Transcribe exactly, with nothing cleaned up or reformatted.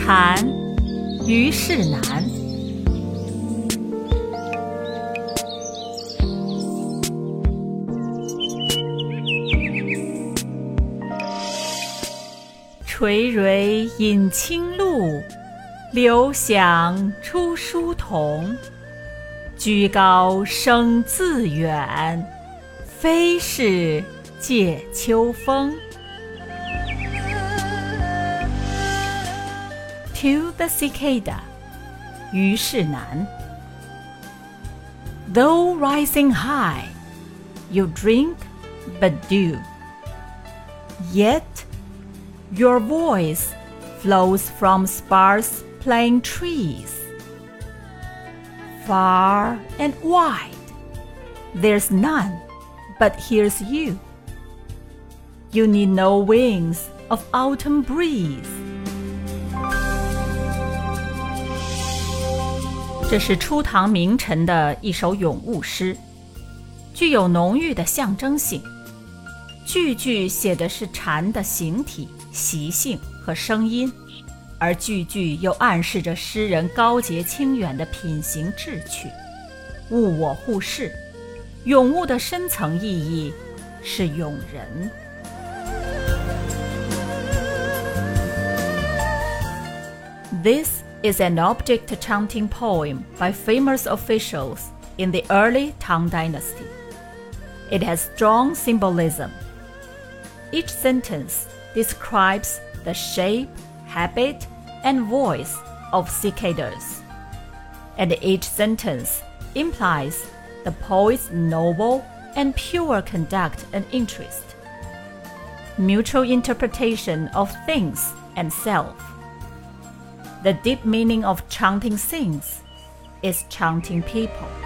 蝉，虞世南。垂緌饮清露，流响出书童。居高声自远，非是藉秋风。To the cicada, 虞世南。Though rising high, you drink but do. Yet, your voice flows from sparse plane trees. Far and wide, there's none but hears you. You need no wings of autumn breeze. 这是初唐名臣的一首咏物诗，具有浓郁的象征性。句句写的是蝉的形体、习性和声音，而句句又暗示着诗人高洁清远的品行志趣。物我互视，咏物的深层意义是咏人。This is an object chanting poem by famous officials in the early Tang Dynasty. It has strong symbolism. Each sentence describes the shape, habit, and voice of cicadas, and each sentence implies the poet's noble and pure conduct and interest, mutual interpretation of things and self. The deep meaning of chanting things is chanting people.